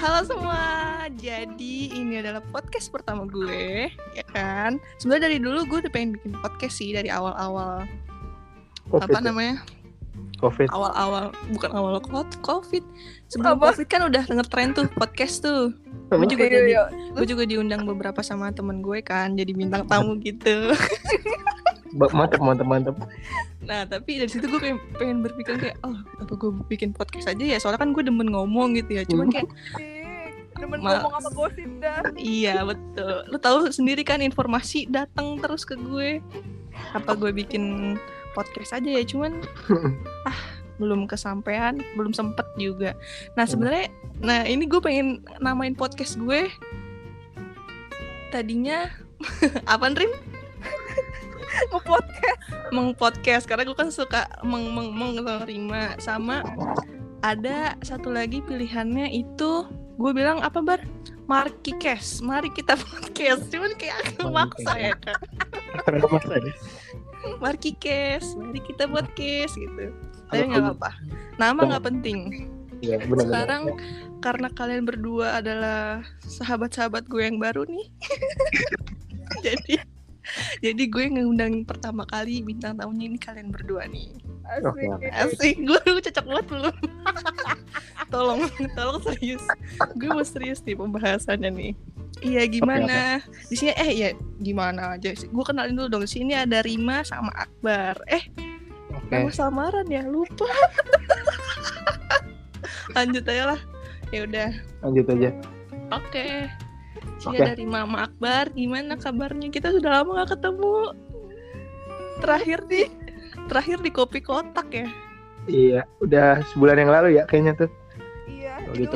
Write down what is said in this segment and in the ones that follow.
Halo semua, jadi ini adalah podcast pertama gue, ya kan? Sebenarnya dari dulu gue udah pengen bikin podcast sih dari awal-awal. COVID, apa namanya? COVID. Awal-awal, bukan awal COVID. Sebelum COVID kan udah ngetren tuh podcast tuh. Gue juga diundang beberapa sama temen gue kan, jadi bintang tamu gitu. Mantap. Nah tapi dari situ gue pengen berpikir kayak, oh apa gue bikin podcast aja ya, soalnya kan gue demen ngomong gitu ya. Cuman kayak demen ngomong apa gosip dah. Iya betul. Lo tahu sendiri kan, informasi datang terus ke gue. Apa gue bikin podcast aja ya, cuman belum kesampaian, belum sempet juga. Nah sebenarnya, ini gue pengen namain podcast gue tadinya apa Rim? Mengpodcast karena gue kan suka Rima, sama ada satu lagi pilihannya itu gue bilang apa Bar? Markicast, mari kita podcast. Cuman kayak agak maksa ya kan. Markicast, mari kita podcast gitu. Tapi nggak apa-apa. Nama nggak penting. Ya, benar. Sekarang karena kalian berdua adalah sahabat-sahabat gue yang baru nih. Jadi gue ngundang pertama kali bintang tamunya ini kalian berdua nih. Asik. Gue cocok banget belum? Tolong serius. Gue mau serius nih pembahasannya nih. Iya gimana? Di sini gimana aja sih? Gue kenalin dulu dong. Di sini ada Rima sama Akbar. Nama samaran ya, lupa. Lanjut aja lah. Ya udah. Lanjut aja. Oke. Sini ada Rima sama Akbar. Gimana kabarnya? Kita sudah lama gak ketemu. Terakhir di Kopi Kotak ya. Iya, udah sebulan yang lalu ya kayaknya tuh. Iya, itu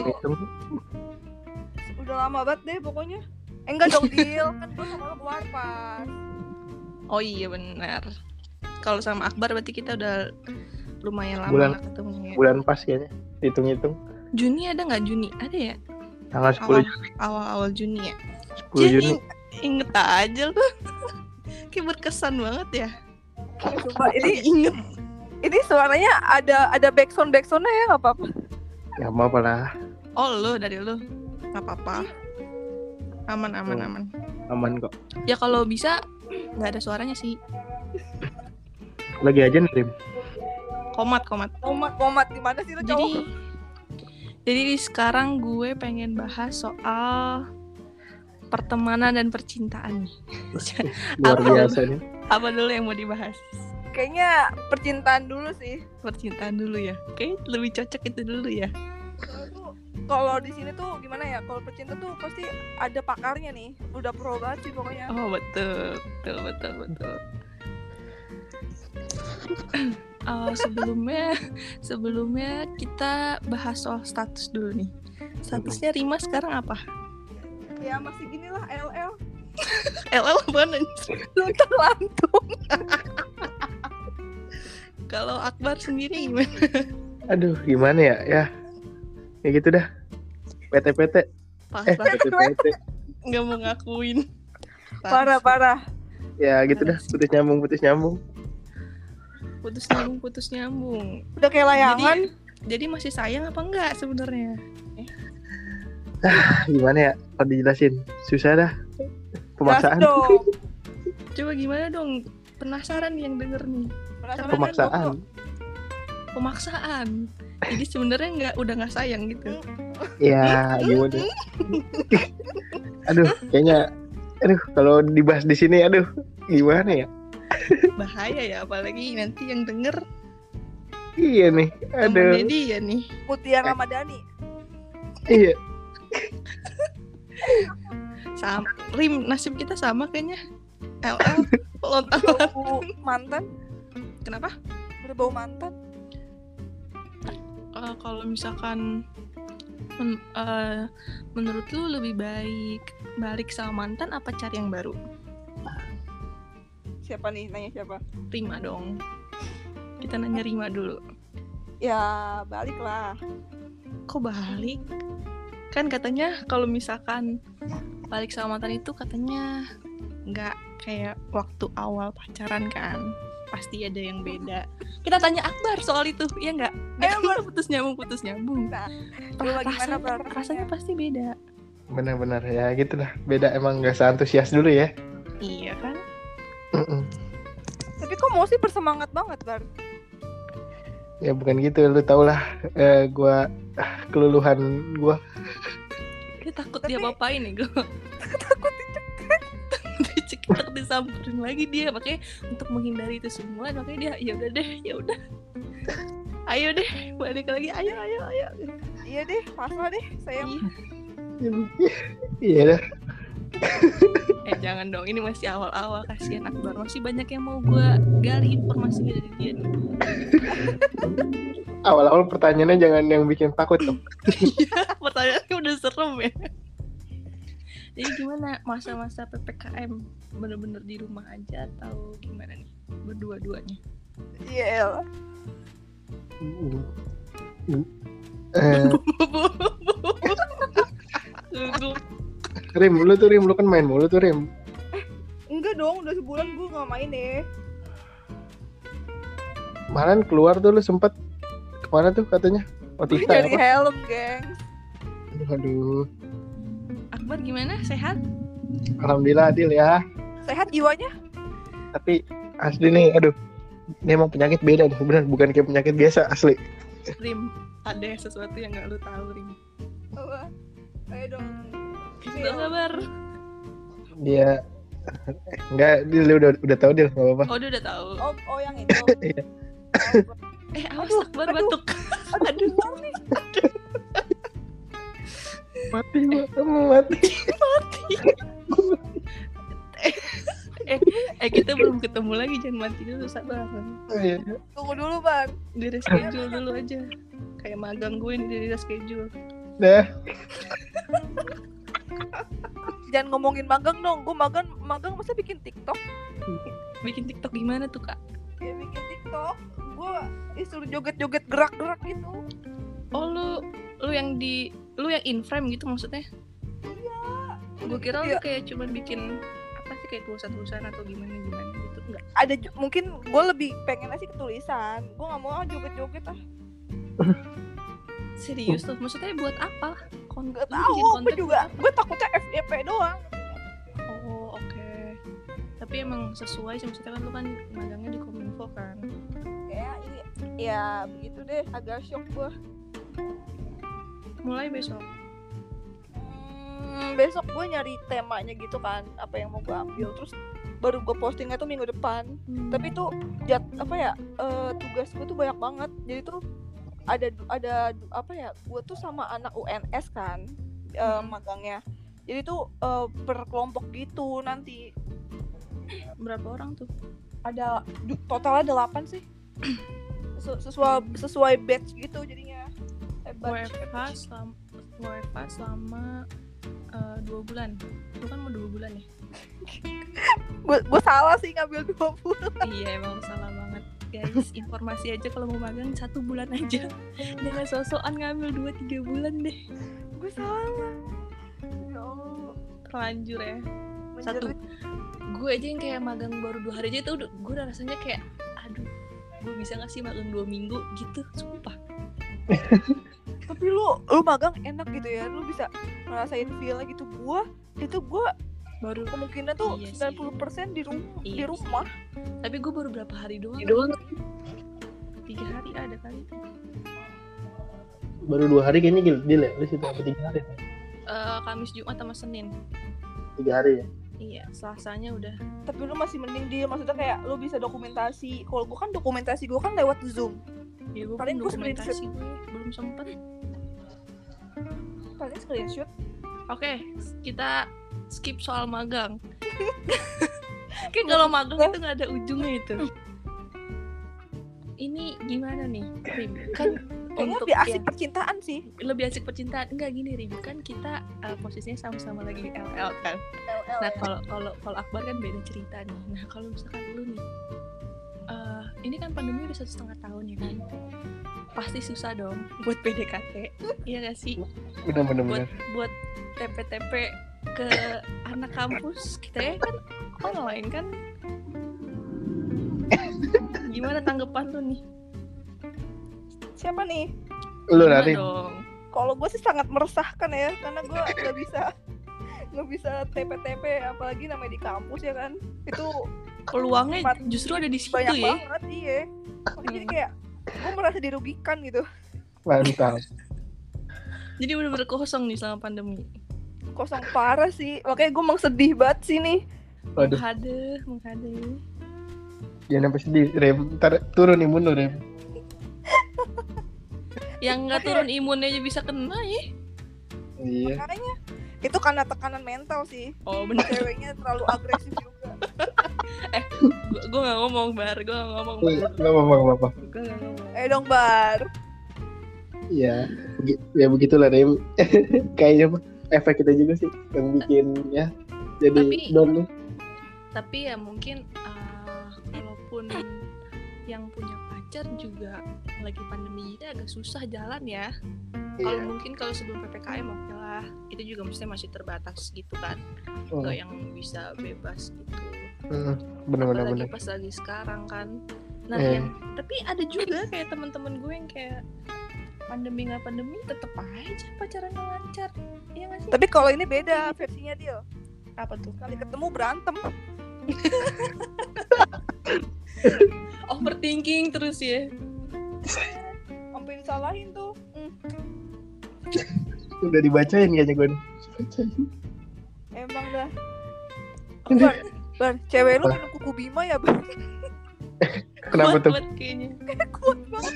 udah lama banget deh pokoknya. Enggak dong, Dil. Kan gue sama lo keluar pas. Oh iya benar. Kalau sama Akbar berarti kita udah lumayan lama gak ketemu ya. Bulan pas kayaknya, hitung-hitung. Juni ada gak Juni? Ada ya? Tanggal 10 Juni. Awal Juni ya? 10 Juni. Inget aja lu. Kayak berkesan banget ya. Coba ini suaranya ada backsoundnya ya, nggak apa-apa. Ya mau apalah. Oh dari lu nggak apa-apa. Aman. Aman kok. Ya kalau bisa nggak ada suaranya sih. Lagi aja nih. Komat di mana sih lu cowok? Jadi sekarang gue pengen bahas soal pertemanan dan percintaan nih. Luar biasa nih. Apa dulu yang mau dibahas? Kayaknya percintaan dulu sih. Percintaan dulu ya. Kayak lebih cocok itu dulu ya. Kalau di sini tuh gimana ya? Kalau percintaan tuh pasti ada pakarnya nih. Udah pro banget sih pokoknya. Oh betul. Sebelumnya kita bahas soal status dulu nih. Statusnya Rima sekarang apa? Ya masih gini lah, LL. LL apaan? Luntang lantung. Kalau Akbar sendiri gimana? Aduh, gimana ya? Ya gitu dah. PT. PT. Nggak mau ngakuin. Parah. Ya gitu dah, putus nyambung. Putus nyambung. Udah kayak layangan. Jadi masih sayang apa enggak sebenarnya? Gimana ya? Kalau dijelasin susah dah. Pemaksaan. Coba gimana dong? Penasaran yang denger nih. Pemaksaan. Jadi sebenarnya udah nggak sayang gitu. Ya gimana? Kayaknya kalau dibahas di sini gimana ya? Bahaya ya, apalagi nanti yang denger. Iya nih. Temennya dia nih. Mutiara Ramadhani. Iya. Sama Rim, nasib kita sama kayaknya. LL bau mantan. Kenapa? Berbau mantan. Kalau misalkan menurut lu lebih baik balik sama mantan apa cari yang baru? Siapa nih? Nanya siapa? Rima dong. Kita nanya Rima dulu. Ya balik lah. Kok balik? Kan katanya kalau misalkan balik sama mantan itu katanya nggak kayak waktu awal pacaran kan. pasti ada yang beda. Kita tanya Akbar soal itu, ya nggak? Dia kan putus nyambung. Nah, lu gimana Bar? Rasanya pasti beda. Benar-benar ya gitu lah. Beda, emang nggak seantusias dulu ya. Iya kan? Tapi kok mau sih bersemangat banget Bar? Ya bukan gitu, lu tau lah gua keluluhan gua. Dia takut dia apain nih gue. Takut dicekik, disamperin lagi dia. Makanya untuk menghindari itu semua, makanya dia ya udah. Ayo deh, balik lagi. Ayo. Iya deh, pasrah deh, sayang. Iya dah. Jangan dong, ini masih awal-awal, kasihan Akbar. Masih banyak yang mau gue gali informasinya dari dia nih. Awal-awal pertanyaannya jangan yang bikin takut dong. Pertanyaannya udah serem ya. Jadi gimana masa-masa PPKM? Bener-bener di rumah aja atau gimana nih? Berdua-duanya? Iya. Rim, lu kan main mulu tuh Rim. Enggak dong, udah sebulan gue gak main deh. Kemarin keluar tuh lu sempet kemana tuh katanya? Otista Nyari helm, geng. Aduh. Akbar gimana? Sehat? Alhamdulillah Adil ya. Sehat jiwanya? Tapi asli nih, aduh. Ini emang penyakit beda nih, bener. Bukan kayak penyakit biasa, asli. Rim, ada sesuatu yang gak lu tahu, Rim. Apa? Ayo dong. Gak sabar. Dia enggak, Dil udah tahu Dil, enggak apa-apa. Oh, dia udah tahu. Oh yang itu. Iya. Awas Akbar batuk. Aduh. Mati. Kita belum ketemu lagi, jangan mati dulu, sabar. Iya. Tunggu dulu, Bang. Di reschedule dulu aja. Kayak magang gue nih, di reschedule. Dah. Jangan ngomongin magang dong. Gue magang masa bikin TikTok? Bikin TikTok gimana tuh, Kak? Ya bikin TikTok. Gue disuruh joget-joget gerak-gerak gitu. Oh, lu yang in frame gitu maksudnya? Iya. Gue kira lu kayak cuman bikin apa sih, kayak tulisan-tulisan atau gimana gitu, enggak? Ada mungkin gue lebih pengen sih ketulisan. Gue nggak mau joget-joget ah. Serius tuh, maksudnya buat apa? Nggak tahu, gue juga. Gue takutnya FYP doang. Oh, oke. Tapi emang sesuai sih, maksudnya kan lu kan magangnya di Kominfo kan. Ya begitu deh, agak shock gue. Mulai besok. Besok gue nyari temanya gitu kan, apa yang mau gue ambil, terus baru gue postingnya tuh minggu depan. Tapi tuh tugas gue tuh banyak banget, jadi tuh ada apa ya, gue tuh sama anak UNS kan magangnya, jadi tuh per kelompok gitu nanti. Berapa orang tuh? Ada totalnya 8 sih. sesuai batch gitu jadinya. WFH selama 2 bulan. Lu kan mau 2 bulan ya? Gue salah sih ngambil 2 bulan. Iya, emang salah banget. Guys, informasi aja kalau mau magang 1 bulan aja. Jangan sok-sokan ngambil 2-3 bulan deh. Gue salah. Ya Allah. Terlanjur ya. Menjerit. Gue aja yang kayak magang baru 2 hari aja tuh gue udah rasanya kayak aduh, gue bisa gak sih magang 2 minggu gitu, sumpah. Tapi lu magang enak gitu ya, lu bisa ngerasain feel-nya gitu. Gue baru kemungkinan tuh 90% di rumah. Tapi gue baru berapa hari doang. 3 hari ada kali. Baru 2 hari kayaknya Dil ya, lu situ apa 3 hari? Kamis, Jumat sama Senin. 3 hari ya? Iya, Selasanya udah. Tapi lu masih mending dia, maksudnya kayak lu bisa dokumentasi. Kalau gue kan dokumentasi gue kan lewat Zoom. Ya gue paling dokumentasi belum sempet. Paling screenshot. Oke, kita skip soal magang. Kayak kalau magang itu nggak ada ujungnya itu. Ini gimana nih, Rim? Kan kayaknya lebih asik percintaan sih. Lebih asik percintaan. Enggak gini, Rim. Kan kita posisinya sama-sama lagi LL kan. LL, nah, ya. kalau Akbar kan beda cerita nih. Nah, kalau misalkan lu nih, ini kan pandemi udah 1,5 tahun ya kan. Pasti susah dong buat PDKT. Iya gak sih? Bener. Buat TP-TP ke anak kampus kita ya kan online kan. Gimana tanggapan lu nih? Siapa nih? Lu Gimana nanti. dong? Kalau gue sih sangat meresahkan ya, karena gue nggak bisa TP-TP, apalagi namanya di kampus ya kan. Itu Peluangnya Empat. justru ada di situ banyak ya. banget, iya. Makanya jadi kayak gue merasa dirugikan gitu. Mantap. Jadi bener-bener kosong nih selama pandemi. Kosong parah sih, makanya gue emang sedih banget sih nih. Waduh, Menghade. jangan sampai sedih, Rem. Ntar turun imun lu, Rem. Yang nggak turun imunnya aja bisa kena ya. Iya. Makanya itu karena tekanan mental sih. Oh bener. Ceweknya terlalu agresif juga. Gue nggak ngomong bar. Gak apa-apa. Gue nggak ngomong. Dong Bar. Iya, ya begitulah, Rem. Kayaknya mah efek kita juga sih yang bikin ya jadi Tapi- down nih. Tapi ya mungkin walaupun yang punya pacar juga lagi pandemi ini agak susah jalan ya. Kalau Iya. mungkin kalau sebelum PPKM oke lah, itu juga mestinya masih terbatas gitu kan, nggak yang bisa bebas gitu. Bener. Apalagi pas lagi sekarang kan. Nah, tapi ada juga kayak teman-teman gue yang kayak pandemi nggak pandemi tetep aja pacarannya lancar, iya nggak sih? Tapi kalau ini beda versinya dia. Apa tuh? Kali ketemu berantem. Overthinking terus ya. Sampai disalahin tuh. Udah dibacain kayaknya gue nih. Emang dah. Bar, cewek lu minum kuku Bima ya, Bar? Kenapa tuh? Kuat kayaknya. Kuat banget.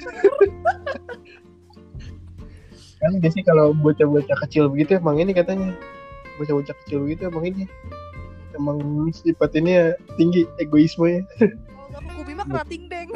Kan biasanya kalau bocah-bocah kecil begitu emang ini katanya. Bocah-bocah kecil begitu emang ini. Emang sifat ini ya tinggi egoismenya. Kalau nggak kuku Bima kena tingdeng.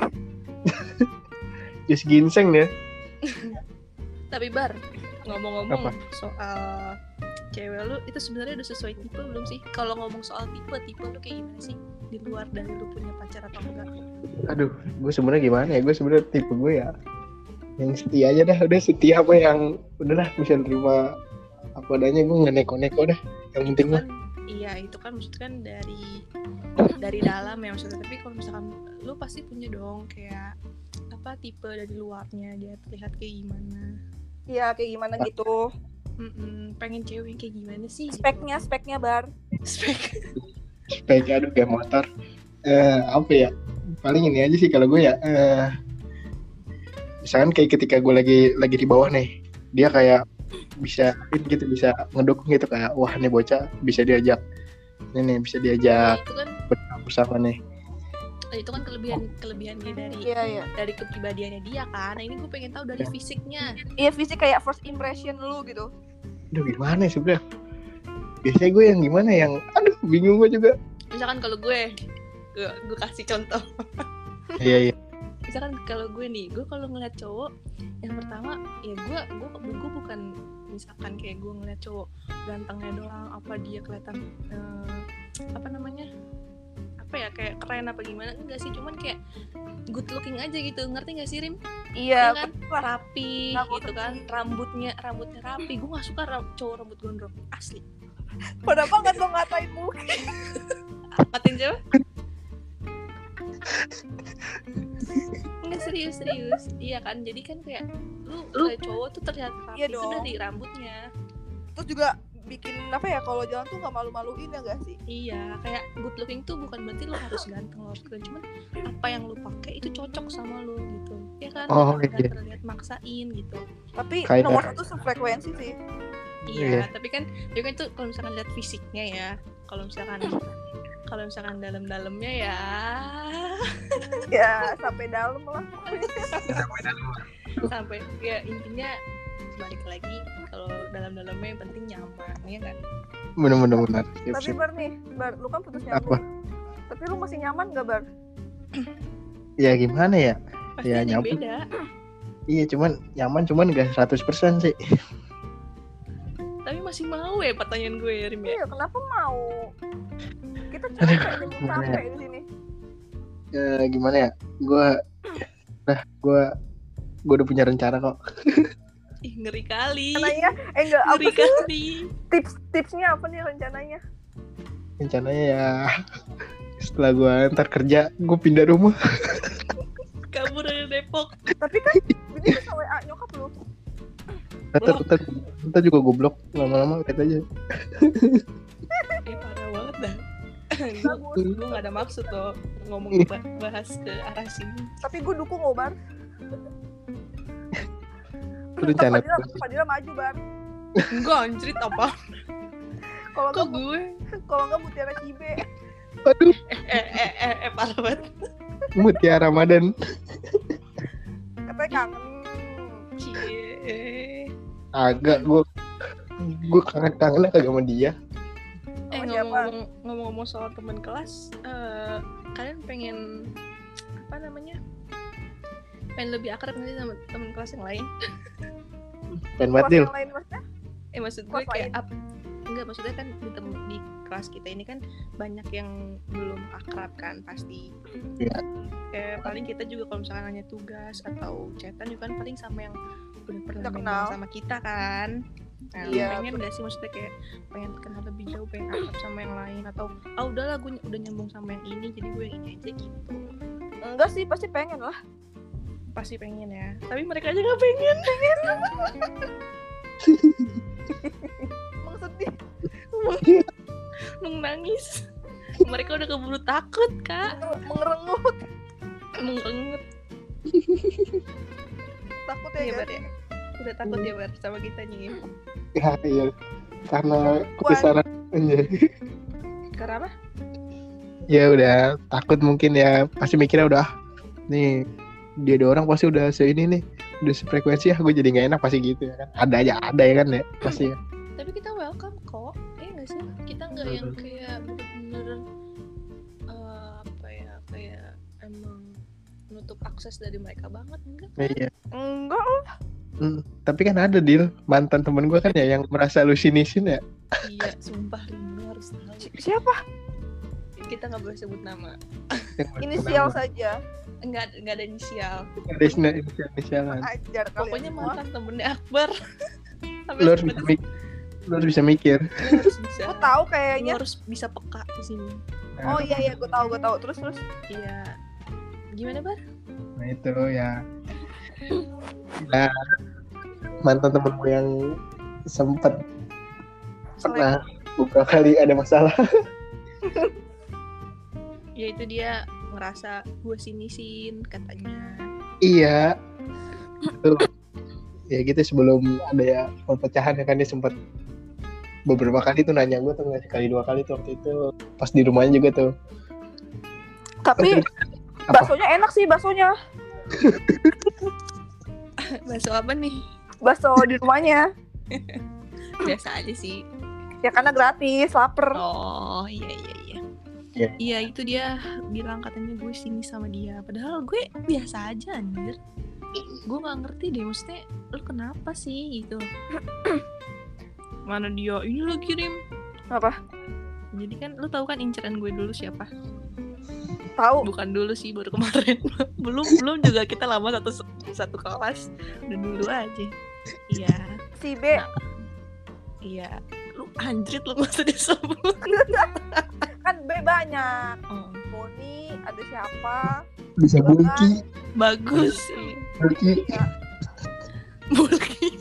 Just ginseng ya. Tapi Bar, ngomong-ngomong Apa? soal cewek lu itu sebenarnya udah sesuai tipe belum sih? Kalau ngomong soal tipe lu kayak gimana sih? Di luar dari lu punya pacar atau enggak? Aduh, gue sebenarnya gimana ya? Gue sebenarnya tipe gue ya yang setia aja dah. Udah setia apa yang udahlah bisa nerima apa adanya, gue nggak neko-neko dah. Yang penting mah. Kan, iya itu kan maksudnya kan dari dalam ya maksudnya. Tapi kalau misalkan lu pasti punya dong kayak apa tipe dari luarnya dia terlihat kayak gimana? Iya, kayak gimana gitu. Pengen cewek yang kayak gimana sih? Speknya Bar. Spek. Spek, aduh kayak motor. Apa ya? Paling ini aja sih kalau gue ya. Misalkan kayak ketika gue lagi di bawah nih, dia kayak bisa gitu, bisa ngedukung gitu kayak wah nih bocah bisa diajak. Ini bisa diajak Itu kan bersama nih. itu kan kelebihan dia Iya. dari kepribadiannya dia kan. Nah ini gue pengen tahu dari fisiknya. Iya, fisik kayak first impression lu gitu. Aduh gimana ya sebenernya? Biasanya gue yang gimana yang aduh bingung gue juga. Misalkan kalau gue kasih contoh. Iya. Misalkan kalau gue nih, gue kalau ngeliat cowok yang pertama ya gue bukan misalkan kayak gue ngeliat cowok gantengnya doang, apa dia kelihatan apa namanya, apa ya, kayak keren apa gimana, enggak sih, cuman kayak good looking aja gitu, ngerti nggak sih Rim? Iya, kan rapi Nah, gitu kan, rambutnya rapi. Gue nggak suka cowok rambut gondrong asli. pada banget lo ngatain mungkin. Matiin siapa? Enggak, serius. Iya kan, jadi kan kayak lu kayak cowok tuh terlihat rapi Iya itu dong. dari rambutnya. Terus juga bikin apa ya, kalau jalan tuh nggak malu-maluin ya gak sih? Iya, kayak good looking tuh bukan berarti lu harus ganteng loh, cuman apa yang lu pakai itu cocok sama lu gitu. Ya kan, Oh, nggak iya. terlihat maksain gitu. Tapi Kayak- nomor satu sefrekuensi sih. Iya, tapi kan juga itu kalau misalkan lihat fisiknya ya. Kalau misalkan dalam-dalamnya ya Ya sampai dalam lah. sampai ya intinya balik lagi kalau dalam-dalamnya yang penting nyaman, ya kan? Bener. Tapi Bar nih, lu kan putus Apa? nyambung. Tapi lu masih nyaman gak, Bar? Ya gimana ya? Pasti Ya, ada yang nyaman. beda. Iya cuman gak 100% sih. Tapi masih mau ya pertanyaan gue ya, Rim ya? Iya, kenapa mau? Kita capek di sini. Gimana ya? Gue udah punya rencana kok. Ih, ngeri kali. Rencananya, enggak, apa Ngeri sih? kali. Tipsnya apa nih rencananya? Rencananya ya setelah gue ntar kerja gue pindah rumah. Tapi kan ini bisa WA nyokap lu. Ntar juga goblok lama-lama lihat aja. Parah banget dah. Bagus. Gue gak ada maksud loh ngomong bahas ke arah sini. Tapi gue dukung lo, Bar. Rencana Fadila maju, Bar. Enggak anjrit apa? Kalau Kok enggak gue? kalau enggak Mutiara Cibe. aduh, Parah banget. Mutiara Ramadan. Katanya kangen. Cie. Agak gue kangen kagak sama dia. Sama siapa? Ngomong-ngomong soal teman kelas, kalian pengen apa namanya? Pengen lebih akrab nanti sama teman kelas yang lain? Pengen Kelas banget Dil. yang lain maksudnya? Maksud gue Kelas kayak lain. enggak, maksudnya kan di kelas kita ini kan banyak yang belum akrab kan pasti. Iya. Kayak paling kita juga kalau misalkan nanya tugas atau chatan juga kan paling sama yang udah pernah Udah main kenal. sama kita kan. Nah, Iya, pengen gak sih maksudnya kayak pengen kenal lebih jauh, pengen akrab sama yang lain, atau udahlah gue udah nyambung sama yang ini jadi gue yang ini aja gitu. Enggak sih, pasti pengen lah. Pasti pengen ya, tapi mereka aja gak pengen. Emang sedih. Nung nangis. Mereka udah keburu takut kak, Mengerengut. mengerengut. Takut Iya ya, Bar guys. ya, udah takut ya Bar sama kita nih. Ya, iya. Karena kebesaran aja. Karena apa? Ya udah takut mungkin ya, pasti mikirnya udah nih dia ada orang pasti udah seini nih, udah sefrekuensi ya, gue jadi nggak enak pasti gitu ya kan. Ada ya kan ya pasti ya. Tapi kita welcome kok, nggak sih? Kita nggak yang kayak bener-bener apa ya, kayak emang menutup akses dari mereka banget, enggak? Iya. Enggak lah. Tapi kan ada Dil, mantan temen gue kan ya yang merasa lu sinisin ya. Iya, sumpah Rindu harus tahu. Siapa? Kita nggak boleh sebut nama. Inisial saja. Nggak ada inisial. Ada inisialan. Ajar kalian Pokoknya semua. mantan temennya Akbar. Lu harus bisa mikir. Lu harus bisa. Gue tahu Lu kayaknya. harus bisa peka di sini. Oh iya gue tahu. Terus. Iya. Gimana Bar? Nah itu ya. Nah, mantan temen gue yang sempet pernah beberapa kali ada masalah. Ya itu dia ngerasa gue sinisin katanya. Iya. Tuh. Ya gitu sebelum ada ya perpecahan ya kan dia sempat beberapa kali tuh nanya gue tuh, nggak sekali 2 kali tuh waktu itu pas di rumahnya juga tuh. Tapi baksonya enak sih baksonya. Bakso apa nih? Bakso di rumahnya. Biasa aja sih. Ya karena gratis, lapar. Oh iya. Iya. Iya itu dia bilang katanya gue sini sama dia. Padahal gue biasa aja anjir. Gue nggak ngerti deh, maksudnya lu kenapa sih gitu. Mana dia ini lo kirim. Apa? Jadi kan lu tahu kan inceran gue dulu siapa? Tahu. Bukan dulu sih, baru kemarin. belum juga kita lama satu kelas. Udah dulu aja. Iya. Si B. Nah, iya. Lu anjrit lu nggak usah disebut. Kan B banyak. Oh, Boni, ada siapa? Bisa bulky. bagus sih. Bulky. Bulky.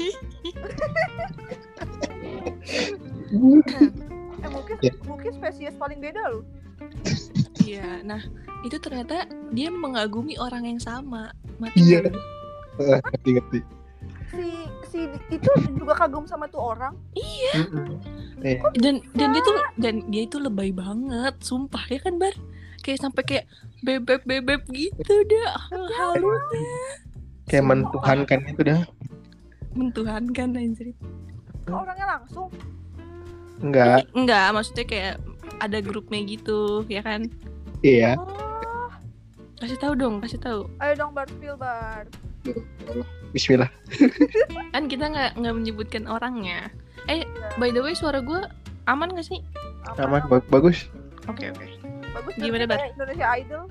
Mungkin spesies paling beda loh. Iya, nah itu ternyata dia mengagumi orang yang sama. Mati Iya. nggak lu? Ngerti. Si itu juga kagum sama tuh orang. Dan dia tuh lebay banget, sumpah ya kan Bar? Kayak sampai kayak bebek gitu dah, halusnya. Kayak mentuhankan itu dah. Mentuhankan anjir. Orangnya langsung. Enggak. Enggak, maksudnya kayak ada grupnya gitu, ya kan? Iya. Oh, Kasih tahu dong. ayo dong Bar, spill Bar. Bismillah. Kan kita nggak menyebutkan orangnya. By the way, suara gue aman nggak sih? Aman, bagus. Oke. Bagus. Gimana, Bar? Kayak Indonesia Idol.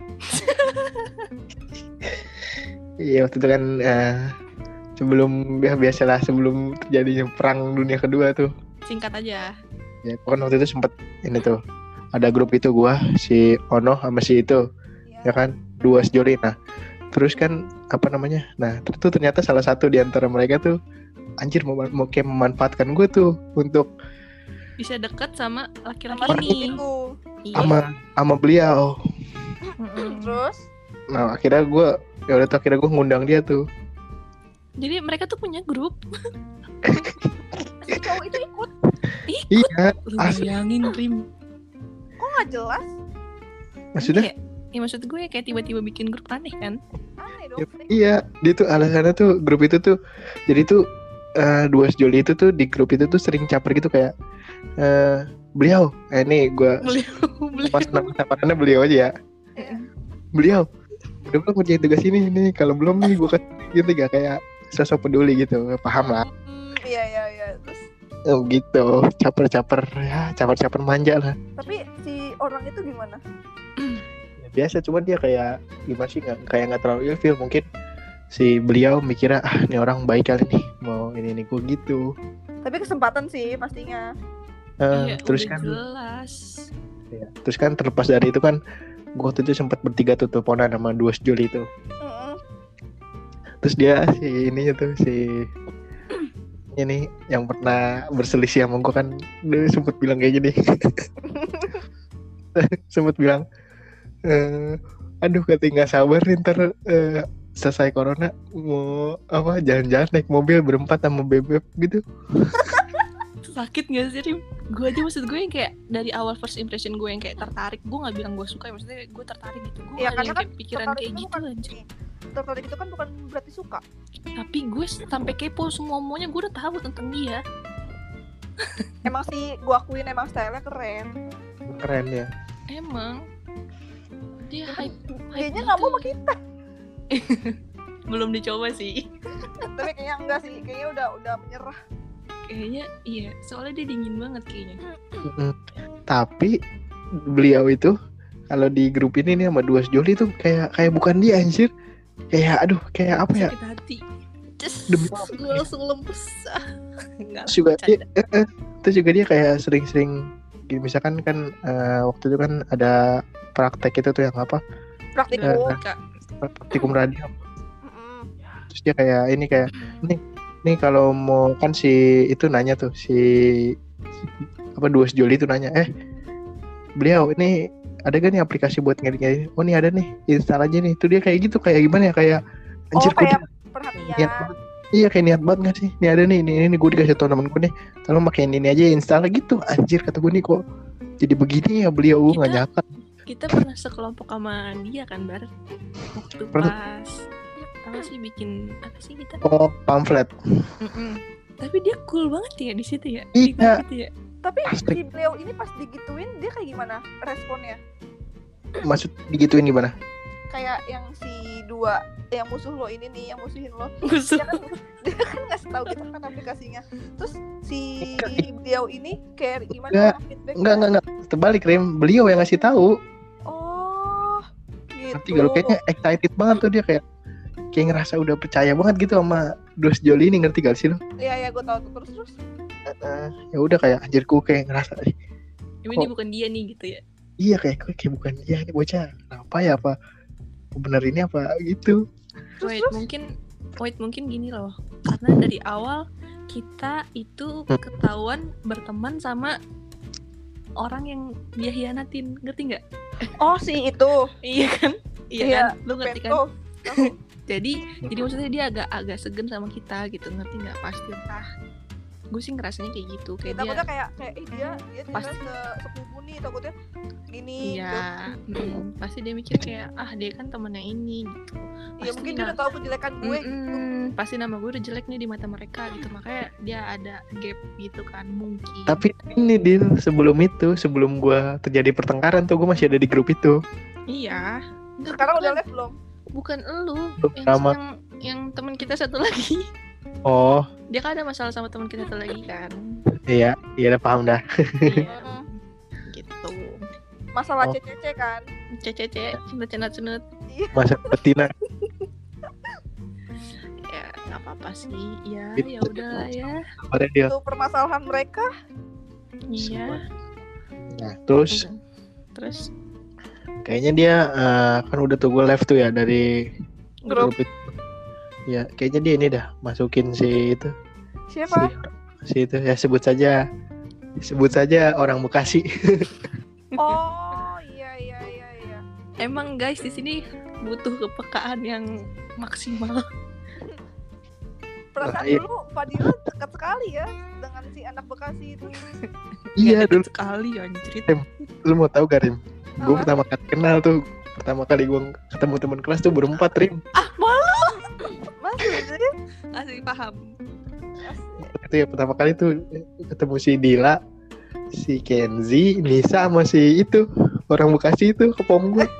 Iya waktu itu kan sebelum terjadinya perang dunia kedua tuh. Singkat aja. Ya kan waktu itu sempet ini tuh ada grup itu gua si Ono sama si itu Iya. ya kan 2 sejoli. Nah Terus kan apa namanya? Nah, itu ternyata salah satu di antara mereka tuh anjir mau kayak memanfaatkan gue tuh untuk Bisa deket sama Sama laki-laki si ini. itu. Iya. sama beliau. Mm-mm. Terus Nah, akhirnya gue ngundang dia tuh. Jadi mereka tuh punya grup. si cowok itu ikut. Iya, Lu asli. bayangin Rim. Kok nggak jelas? Maksudnya Ya maksud gue kayak tiba-tiba bikin grup aneh kan. Aneh dong. iya, dia tuh alasannya tuh grup itu tuh jadi tuh dua sejoli itu tuh di grup itu tuh sering caper gitu kayak beliau, ini gue pas nama samarannya beliau aja ya. Iya. Beliau udah belum ngerjain tugas ini kalau belum nih gue kasih gitu gak kayak sosok peduli gitu, paham lah. Iya. Terus Gitu, caper manja lah. tapi si orang itu gimana? Ya, biasa, cuman dia kayak gimana sih, nggak terlalu ilfil. Mungkin si beliau mikirnya ini orang baik kali nih, mau ini gue gitu. Tapi kesempatan sih pastinya. Iya, Terus udah kan jelas. ya, terus kan terlepas dari itu kan gue waktu itu sempat bertiga tuh teleponan sama dua sejoli itu. Mm-mm. Terus dia si ininya tuh si ini yang pernah berselisih sama gue kan, dia sempet bilang kayak gini. Sempet bilang aduh katanya nggak sabar nih ntar selesai corona mau jalan-jalan naik mobil berempat sama bebek gitu. Sakit gak sih Rim? Gue aja maksud gue yang kayak dari awal first impression gue yang kayak tertarik. Gue gak bilang gue suka ya, maksudnya gue tertarik gitu. Gue Iya, ada yang karena kayak kan pikiran tertarik kayak itu gitu bukan anjir. tertarik itu kan bukan berarti suka. Tapi gue sampai kepo semuanya gue udah tahu tentang dia. Emang sih gua akuin emang stylenya keren. Keren ya. Emang dia hype Kayaknya gitu. nggak mau sama kita. Belum dicoba sih. Tapi kayaknya enggak sih. Kayaknya udah menyerah. Kayaknya iya, soalnya dia dingin banget kayaknya. Tapi beliau itu kalau di grup ini nih sama dua sejoli tuh kayak bukan dia anjir. Kayak aduh kayak apa ya? Sakit hati. Demi Gue langsung lemes. Enggak. Terus juga dia, terus juga dia kayak sering gini, misalkan kan waktu itu kan ada praktek itu tuh yang apa? Praktikum. Praktikum radio. Mm-mm. Terus dia kayak ini kayak nih kalau mau kan si itu nanya tuh si dua sejoli itu nanya beliau ini ada gak nih aplikasi buat ngedit? Oh nih ada nih, install aja nih. Itu dia kayak gitu, kayak gimana ya, kayak anjir kayak niat perhatian. banget. Iya kayak niat banget gak sih? Nih ada nih, ini gue dikasih tau temen gue nih, tolong pakein ini aja install gitu. Anjir kata gue nih kok jadi begini ya beliau, Kita- gak nyangka. Kita pernah sekelompok sama dia kan Bar. Waktu Pernah. pas apa sih bikin apa sih kita? Oh pamflet. Tapi dia cool banget ya di situ ya. Iya. Di grup itu ya. Tapi Asli. si beliau ini pas digituin dia kayak gimana responnya? Maksud digituin gimana? Kayak yang si dua yang musuh lo ini nih, yang musuhin lo. Musuh. Dia kan ngasih tahu kita kan aplikasinya. Terus si beliau ini kayak gimana Enggak, feedback? Enggak. Terbalik Rem, beliau yang ngasih tahu. Oh, gitu. Nanti kalau kayaknya excited banget tuh dia kayak ngerasa udah percaya banget gitu sama dua sejoli ini, ngerti gak sih lo? Iya, gue tahu tuh. Terus. Ya udah kayak anjir gue kayak ngerasa Ini bukan dia nih gitu ya. iya kayak bukan dia ini bocah. Kenapa ya, apa bener ini apa gitu. Wait mungkin gini loh. Karena dari awal kita itu ketahuan berteman sama orang yang dia hianatin, ngerti nggak? Oh, si itu. Iya kan? Iya Iya, kan? Lu ngerti kan? Tahu. Jadi maksudnya dia agak segen sama kita gitu, ngerti nggak? Pasti entah. Gue sih ngerasanya kayak gitu, kayak dia. Takutnya kayak dia Pasti. sepupu nih, takutnya gini. Iya, pasti dia mikir kayak dia kan temennya ini gitu. Iya, Pasti mungkin dia udah tahu kejelekan gue. Pasti nama gue udah jelek nih di mata mereka gitu, makanya dia ada gap gitu kan mungkin. Tapi ini Dil, sebelum gue terjadi pertengkaran tuh gue masih ada di grup itu. Iya. Enggak, Sekarang bukan, udah live belum? bukan elu, Belum lama. yang teman kita satu lagi. Oh Dia kan ada masalah sama teman kita satu lagi kan. iya udah paham dah. Iya. Gitu. Masalah Oh. CCC kan. Cece, cenut. Masa betina. Ya nggak apa-apa sih. Ya Gitu. ya udahlah ya. Kemarin dia. Itu permasalahan mereka. Iya. Nah terus Terus kayaknya dia kan udah tuh gue live tuh ya dari Grup. itu. Ya kayaknya dia ini dah masukin si itu. Siapa? Si itu ya sebut saja orang Bekasi. Oh iya. Emang guys di sini butuh kepekaan yang maksimal. Perasaan Iya. dulu Fadila dekat sekali ya dengan si anak Bekasi itu. Iya Nggak deket dulu. sekali anjrit. Lu mau tahu gak Rim? Gue Apa? pertama kali kenal tuh. Pertama kali gue ketemu teman kelas tuh berempat Rim. Maksudnya Asli paham. Itu ya pertama kali tuh ketemu si Dila, si Kenzi, Nisa sama si itu orang Bekasi itu ke pom gue.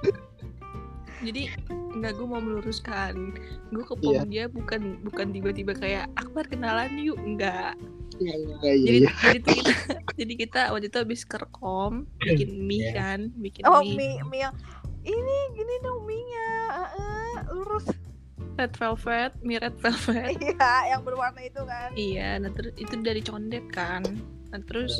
Jadi enggak, gue mau meluruskan. Gue ke pom Iya. dia bukan tiba-tiba kayak Akbar kenalan yuk, enggak. Iya. Jadi kita waktu itu habis kerkom bikin mie kan, bikin oh mie mie yang ini gini dong mie-nya. Lurus. red velvet, mie red velvet. Iya, yang berwarna itu kan. Iya, nah terus itu dari Condet kan. Nah terus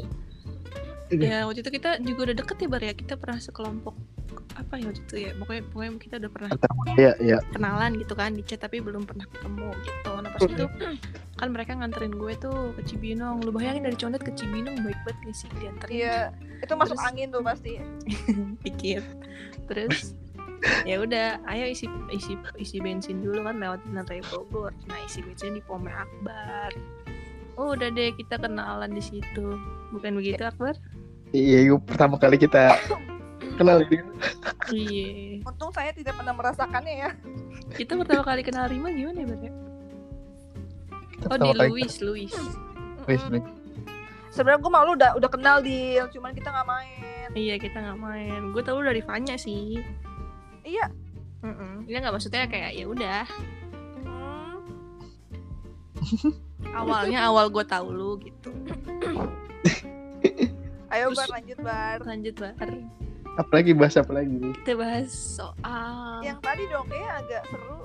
ya waktu itu kita juga udah deket ya Bar ya. Kita pernah sekelompok apa ya waktu itu ya. Pokoknya kita udah pernah Iya. kenalan gitu kan di chat tapi belum pernah ketemu gitu. Nah pas itu kan mereka nganterin gue tuh ke Cibinong. Lu bayangin dari Condet ke Cibinong baik banget gak sih dianterin? Iya, itu masuk Terus- angin tuh pasti. Dikit. Terus ya udah, ayo isi bensin dulu kan lewat Raya Bogor. Nah isi bensin di Pom Akbar. Oh udah deh kita kenalan di situ. Bukan begitu Akbar? Iya, yuk pertama kali kita kenal dia. Iya. Untung saya tidak pernah merasakannya ya. Kita pertama kali kenal Rima gimana ya Bar ya? Oh Pertama di kali Louis. Wes, Sebenarnya gue malu udah kenal Dil, cuman kita nggak main. Iya kita nggak main. Gue tahu dari Vanya sih. Iya. Dia nggak maksudnya kayak ya udah. Hmm. Awal gue tahu lu gitu. Ayo Terus- Bar, lanjut Bar. Lanjut Bar. apalagi bahas apa lagi? Kita bahas soal Yang tadi dong kayaknya agak seru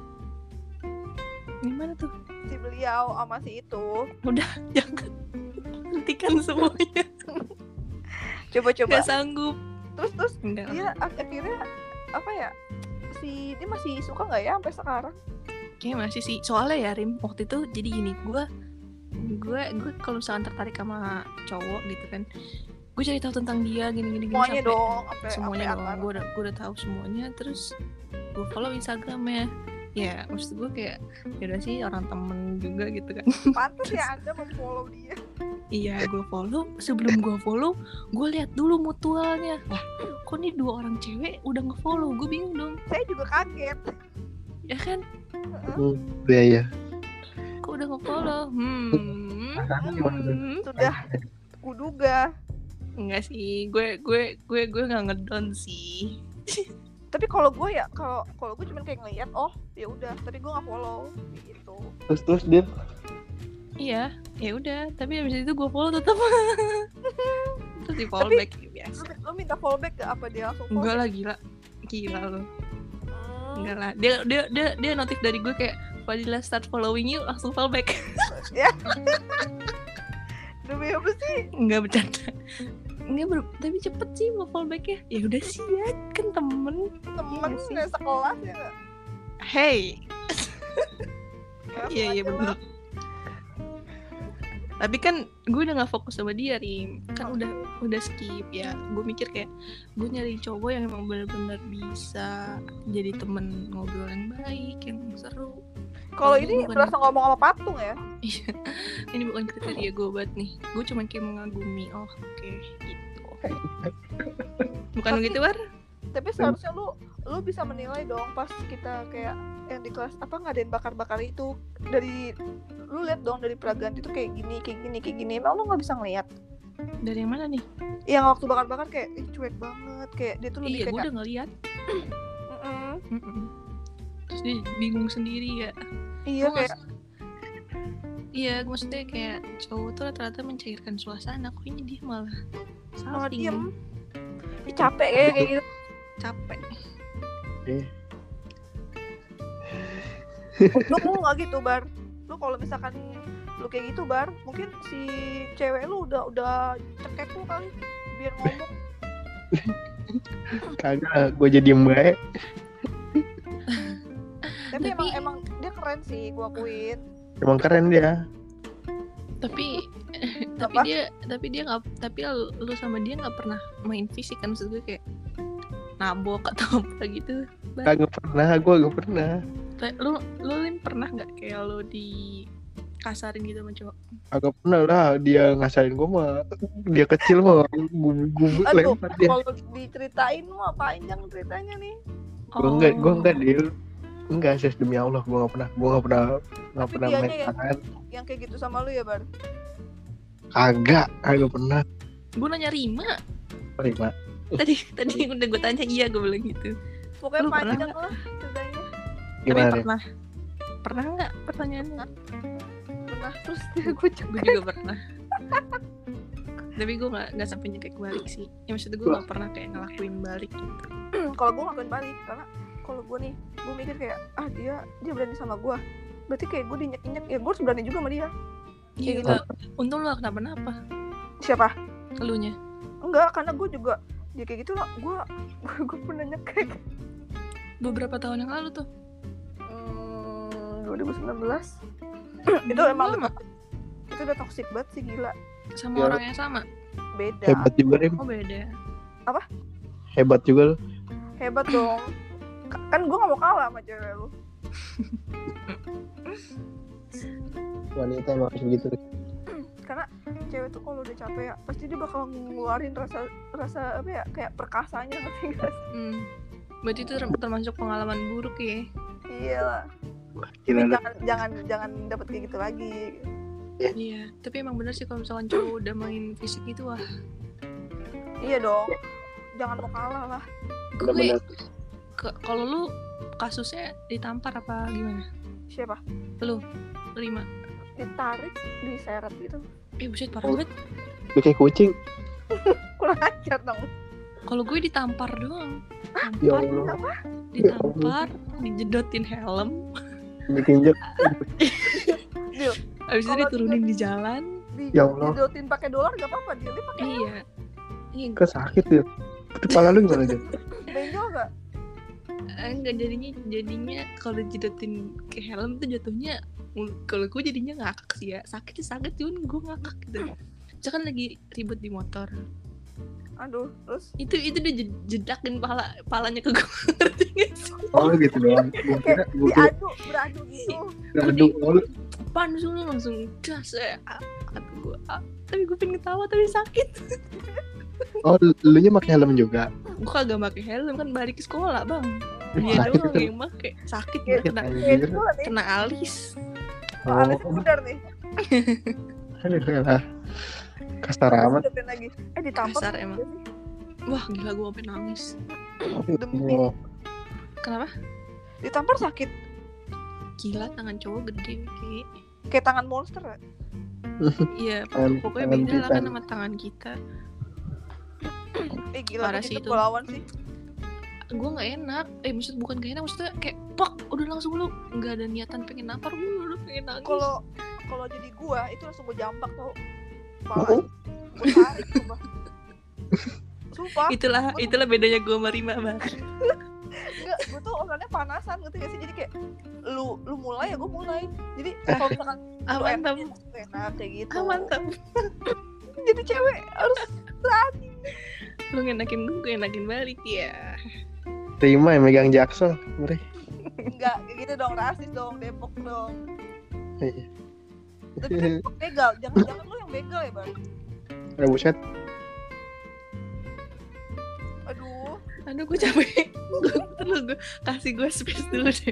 gimana tuh? si beliau sama si itu. Jangan hentikan semuanya. Coba-coba. Gak sanggup. Terus Enggak. dia akhirnya apa ya? Dia masih suka nggak ya sampai sekarang? Kayaknya masih sih. Soalnya ya Rim, waktu itu jadi gini, gue kalau misalkan tertarik sama cowok gitu kan, gue cari tahu tentang dia gini Semuanya sampai dong, sampai semuanya sampai dong. akar. Gue udah tahu semuanya. Terus gue follow Instagramnya. Ya maksud gue kayak ya udah sih orang temen juga gitu kan. Pantas ya Anda memfollow dia. Iya gue follow. Sebelum gue follow, gue lihat dulu mutualnya. Lah kok nih 2 orang cewek udah nge-follow? Gue bingung dong. Saya juga kaget. Ya kan? Iya. Kok udah nge-follow? Sudah kuduga. Enggak sih, gue nggak ngedon sih. Tapi kalau gue ya, kalau gue cuma kayak ngeliat, oh ya udah, tapi gue nggak follow gitu. Terus dia Iya, ya udah. Tapi abis itu gue follow tetap. Terus di follow Tapi- back biasa. Lo minta follow back gak apa dia langsung follow? Enggak lah gila lo. Hmm. Enggak lah. Dia notif dari gue kayak Fadila start following you, langsung follow back. Demi apa sih? Enggak bercanda. Tapi cepet sih mau follow back ya. Ya udah sih ya, kan temen. Temen Iya sih. sekelas ya nggak? Hey. Langsung Iya aja bener. lah. Tapi kan gue udah gak fokus sama dia Rim. Kan udah skip ya. Gue mikir kayak gue nyari cowok yang emang benar-benar bisa jadi temen ngobrol yang baik, yang seru. Kalau Ini ini bukan- berasa ngomong sama patung ya? Iya. Ini bukan kriteria gue banget nih. Gue cuma kayak mengagumi. Oh oke, gitu. Bukan Tapi- begitu War? Tapi seharusnya lu bisa menilai dong pas kita kayak yang di kelas apa ngadain bakar-bakar itu, dari lu lihat dong dari Praganti tuh kayak gini. Emang lu nggak bisa ngeliat? Dari yang mana nih? Yang waktu bakar-bakar kayak cuek banget, kayak dia tuh lebih Iya gue kayak udah ngeliat. "Mm-mm." Terus dia bingung sendiri ya. Iya Gua kayak Iya, maksudnya kayak cowok tuh rata-rata mencairkan suasana. Kok ini dia malah malah salting. diem. Ih, capek kayak gitu. Capek. Lu nggak gitu Bar? Lu kalau misalkan lu kayak gitu Bar, mungkin si cewek lu udah cekek lu kali biar ngomong. kagak gue jadi mbak. Tapi emang dia keren sih, gua akuin. Emang keren dia. Tapi Apa? dia nggak, tapi lu sama dia nggak pernah main fisik kan, maksud gue kayak nabok atau apa gitu. Kagak pernah, gue gak pernah. Lu Lim pernah nggak kayak lu dikasarin gitu sama cowok? Agak pernah lah dia ngasarin gue mah. Dia kecil mah gue Aduh, lempar dia. kalau diceritain mah panjang ceritanya nih. Gue enggak deal. Enggak sih, demi Allah gue gak pernah Tapi main dianya ya? tangan. Yang kayak gitu sama lu ya, Bar? Kagak pernah. Gue nanya Rima. Terima. Tadi udah gue tanya, iya gue bilang gitu. Pokoknya Lu pernah panjang lah ceritanya. Gimana Tapi nih? pernah nggak pertanyaannya? Pernah, terus dia gue Gue juga pernah. Tapi gue nggak sampai nyekek balik sih. Ya maksudnya gue nggak pernah kayak ngelakuin balik gitu. kalau gue ngakuin balik, karena kalau gue nih, gue mikir kayak dia berani sama gue, berarti kayak gue dinyek-nyek, ya gue harus berani juga sama dia. Iya Kayak gitu. Untung lu gak kenapa-napa. Siapa? Elunya. Enggak, karena gue juga dia kayak gitu lah, gue pernah nyekek. Beberapa tahun yang lalu tuh. 2019 itu emang lama. itu udah toxic banget sih, gila. Sama Ya. orang yang sama. Beda. Hebat juga Rim. Oh beda. Hebat juga lu. Hebat dong. Kan gue gak mau kalah sama cewek lu. Wanita emang harus begitu. Karena cewek tuh kalau udah capek ya, pasti dia bakal ngeluarin rasa apa ya, kayak perkasanya, ngerti gak sih? Berarti itu termasuk pengalaman buruk ya. Iya lah. Gila lu. Jangan dapet kayak gitu lagi. Iya. Tapi emang bener sih kalau misalkan cowok udah main fisik gitu, wah. Iya dong. Jangan mau kalah lah. Gue Bener-bener. kalau lu kasusnya ditampar apa gimana? Siapa? Lu Rima. Ditarik, diseret gitu. Buset parah banget. Lu kayak kucing. Kurang ajar dong. Kalau gue ditampar doang. Ya Tampar, Allah. ditampar, dijedotin helm. Ditinjak. Dil, Abis itu Kalau diturunin di jalan. Ya Allah. dijodotin pakai dolar gak apa-apa, dia pakai Iya. Iya. Kan sakit dia. Itu kepala lu gimana dia? benjol gak? Enggak, jadinya kalau dijedotin ke helm tuh jatuhnya, kalau gue jadinya ngakak sih ya. Sakit cuman gue ngakak gitu. Saya kan lagi ribet di motor. Aduh, terus Itu dia jedakin palanya ke gue. Ngerti gak sih? Oh gitu doang. Gua kira beradu gitu. aduh. Oh, lu Pan langsung gas ya. Kata gue, tapi gue pengen ketawa tapi sakit. lu nya pakai helm juga. Gue kagak pakai helm kan, balik ke sekolah bang. Dia Sakit doang itu. yang pakai. Sakit Iya, kena Anjir. Itu lah nih. kena alis. Alisnya pudar nih. Aduh lah. Kasar amat. Dijodotin lagi. Ditampar. Kasar emang. Wah gila, gue sampai nangis. Demi. Oh, Kenapa? Ditampar sakit. Gila, tangan cowok gede kayak. Kayak tangan monster ya? Iya, pokoknya tangan beda lah kita. kan sama tangan kita. Gila, Parah bikin sih itu. kepulauan sih. Gue nggak enak. Bukan gak enak, maksudnya kayak pak, udah langsung lu nggak ada niatan pengen nampar, gue udah pengen nangis. Kalau jadi gua itu langsung gua jambak tau. Oh. Gua tarik sumpah. Itulah bedanya gue sama Rima bang. Enggak, gua tuh orangnya panasan, ngerti gak sih? Jadi kayak lu mulai ya gua mulai. Jadi kalau misalkan lu Mantap. enak kayak gitu. Mantap. Jadi cewek harus Lu ngenakin gue enakin balik ya. Terima yang megang jaksel. Ngeri. enggak kayak gitu dong, rasis dong, Depok dong. Iya. Tapi Depok begal, jangan lu yang begal ya, Bang. Ada buset. Aduh, Gue capek. Gue kasih gue space dulu deh.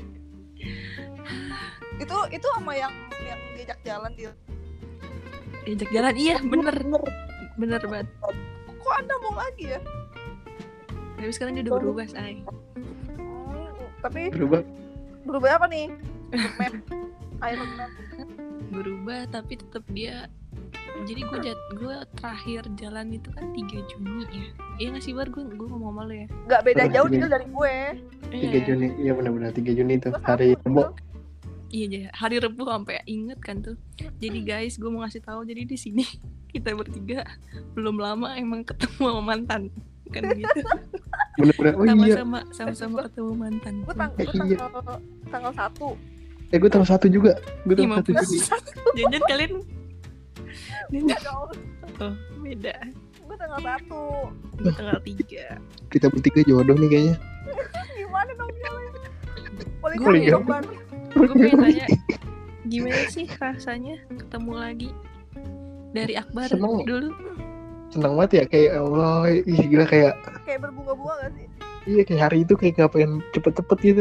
itu sama yang diajak jalan dia. Diajak jalan, iya bener banget. Kok Anda mau lagi ya? Tapi sekarang dia udah berubah say. Tapi Berubah. apa nih? Map Iron Man. Berubah tapi tetap dia. Jadi gue terakhir jalan itu kan 3 Juni ya. Iya nggak sih Bar, gue ngomong sama lo ya. Gak beda Oh, jauh Juni. dia dari gue. 3 Juni. Iya benar-benar 3 Juni itu Gua hari sama, Rebo. Iya, hari Rebu sampai inget kan tuh. Jadi guys, gue mau ngasih tahu, jadi di sini kita bertiga belum lama emang ketemu sama mantan, kan gitu. Benar-benar. Oh iya. Sama-sama ketemu mantan. Gue Iya. tanggal 1. Gue tanggal 1 juga. Gue Ih, tanggal 1 mampus. juga. Jangan kalian Enggak dong. oh, beda. Gue tanggal 1. Gue tanggal 3. Kita bertiga jodoh nih kayaknya. Gimana dong Jalin? Paling Gue kali ya. dong Bar. Gue pengen tanya gimana sih rasanya ketemu lagi dari Akbar Seneng. dulu. Senang banget ya kayak Allah, ih gila kayak Kayak berbunga-bunga gak sih? iya kayak hari itu kayak nggak pengen cepet-cepet gitu.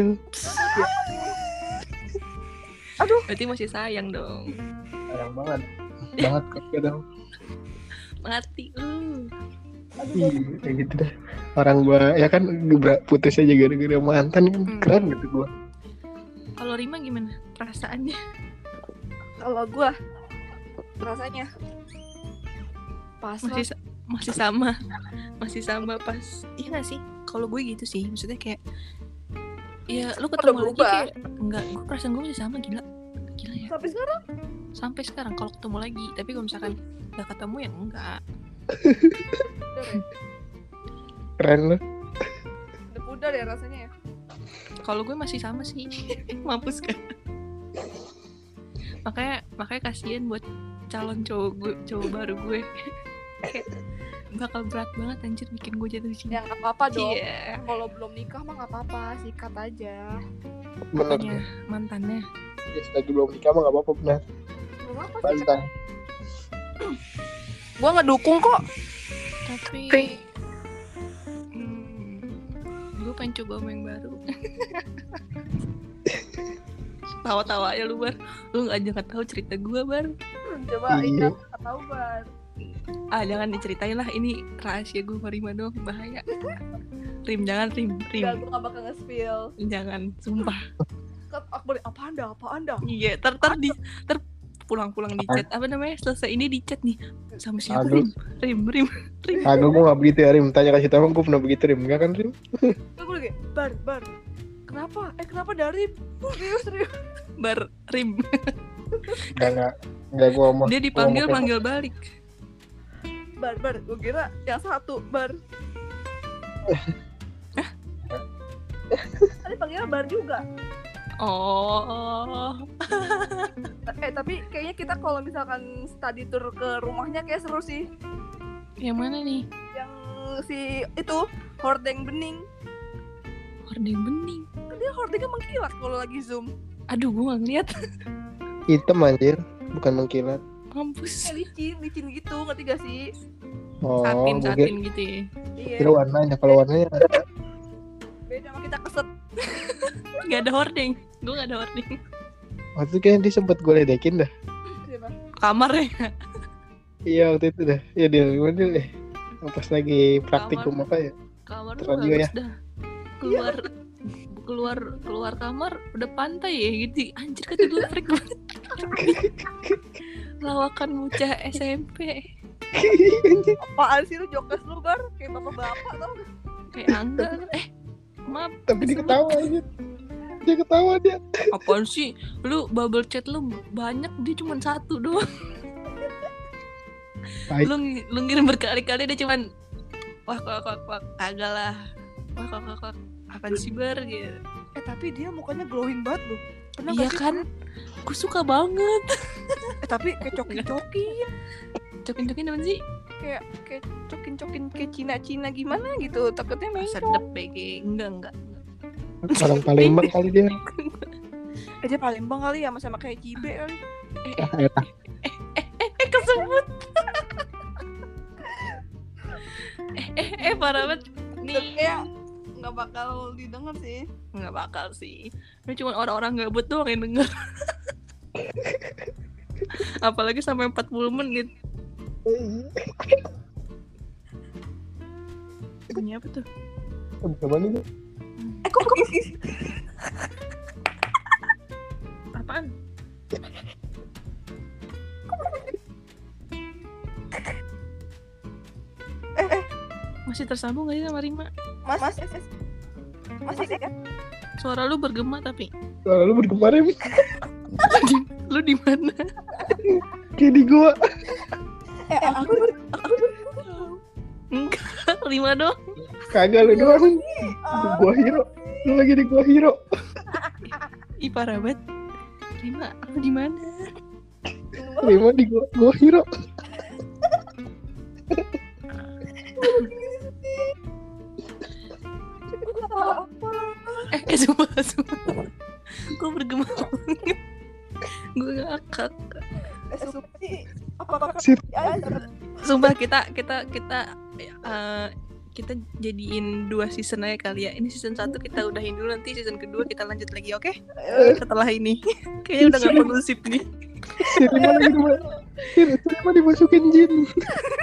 Berarti masih sayang dong. Sayang banget. Banget kadang. Mati lu. Iya kayak gitu dah. Orang gua ya kan putus aja gara-gara mantan kan keren gitu gua. Kalau Rima gimana perasaannya? Kalau gue rasanya pasrah. masih sama pas iya nggak sih? Kalau gue gitu sih, maksudnya kayak ya lu Udah ketemu lagi berubah. kayak enggak, gue perasaan gue masih sama gila ya. Sampai sekarang Sampai sekarang kalau ketemu lagi, tapi kalau misalkan nggak ketemu ya enggak. udah ya. Keren lu. Udah pudar ya rasanya ya. Kalau gue masih sama sih, mampus kan. Makanya kasihan buat calon cowok baru gue. Kayak bakal berat banget anjir bikin gue jatuh cinta. Ya nggak apa-apa dong. Iya. Kalau belum nikah mah nggak apa-apa, sikat aja. Bener. Apanya? Mantannya. Ya, selagi belum nikah mah nggak apa-apa benar. Nggak apa-apa sikat. Santai. Gue ngedukung kok. Tapi gue pengen coba sama yang baru. Tawa-tawa aja lu Bar. Lu jangan tahu cerita gue Bar. Coba Iya. nggak tahu Bar. Jangan diceritain lah, ini rahasia gue sama Rima dong, bahaya. Rim jangan Rim. Enggak, gue nggak bakal nge-spill. Jangan, sumpah. Akbar apa anda? Iya, ter pulang-pulang di chat. Apa namanya? Selesai ini di chat nih. Sama siapa Aduh. Rim. Agak gue nggak begitu ya Rim. Tanya kasih tahu gue pernah begitu Rim. Enggak kan Rim? Gue lagi bar. Kenapa dari? Serius. Bar Rim. Enggak gue mau. Dia dipanggil manggil balik. Bar. Gue kira yang satu bar. Tadi panggilnya bar juga. Oh. Tapi kayaknya kita kalau misalkan study tour ke rumahnya kayak seru sih. Yang mana nih? Yang si itu hordeng bening. Hordeng bening. Kan dia hordengnya mengkilat kalau lagi zoom. Aduh, gue gak ngeliat. Hitam anjir, bukan mengkilat. Mampus. Kayak licin gitu, ngerti gak sih? Oh, Satin gue gitu ya. Iya. kira warnanya. Kalau warnanya Beda sama kita keset. Gak ada hordeng. Gue gak ada hordeng. waktu itu kan dia sempet gue ledekin dah. Siapa? Kamarnya. Iya waktu itu dah. Ya dia gimana deh. Pas lagi praktikum apa ya? Kamar tuh Terus juga bagus ya. dah. Keluar kamar udah pantai ya gitu. Anjir kata gue freak banget. Lawakan bocah SMP. Apaan sih lu jokes lu bar? Kayak bapak-bapak tau. Kayak Angga. Maaf. Tapi dia kesebut. ketawa aja. Dia ketawa dia. Apaan sih? Lu bubble chat lu banyak, dia cuma satu doang. Baik. Lu ngirim berkali-kali dia cuman wah kagak lah. Wah apaan sih Bar gitu. Tapi dia mukanya glowing banget loh. Pernah Iya gak sih? kan? Gue suka banget. Tapi kayak cokin-cokin. Cokin-cokin apa sih? Kayak cokin-cokin kayak Cina-Cina gimana gitu. Takutnya mencong. Sedep BG. Enggak. Orang Palembang kali dia. Dia Palembang kali ya, sama kayak Cibe kali. Kesebut. Parah banget. Tapi kayak nggak bakal didengar sih. Nggak bakal sih. Ini cuma orang-orang gabut doang yang denger. Apalagi sampai 40 menit. Bunyi apa tuh? Gimana tuh? Kok begini? Apaan? Masih tersambung gak sih sama Rima? Masih kan? Suara lu bergema tapi. Lalu bergema Rim. Lu di mana? Kayak di gua. Aku Enggak, Rima dong. Kagak lu doang. Di gua hero. Lu lagi di gua hero. Ih parah banget. Rima, apa di mana? Rima di gua Hiro. Sumpah. Gue bergema banget. Gue ngakak. Sir. Sumpah kita jadiin 2 season aja kali ya. Ini season 1 kita udahin dulu, nanti season kedua kita lanjut lagi, oke? Setelah ini. Kayaknya udah gak perlu sip nih. Sir Rima dimasukin jin.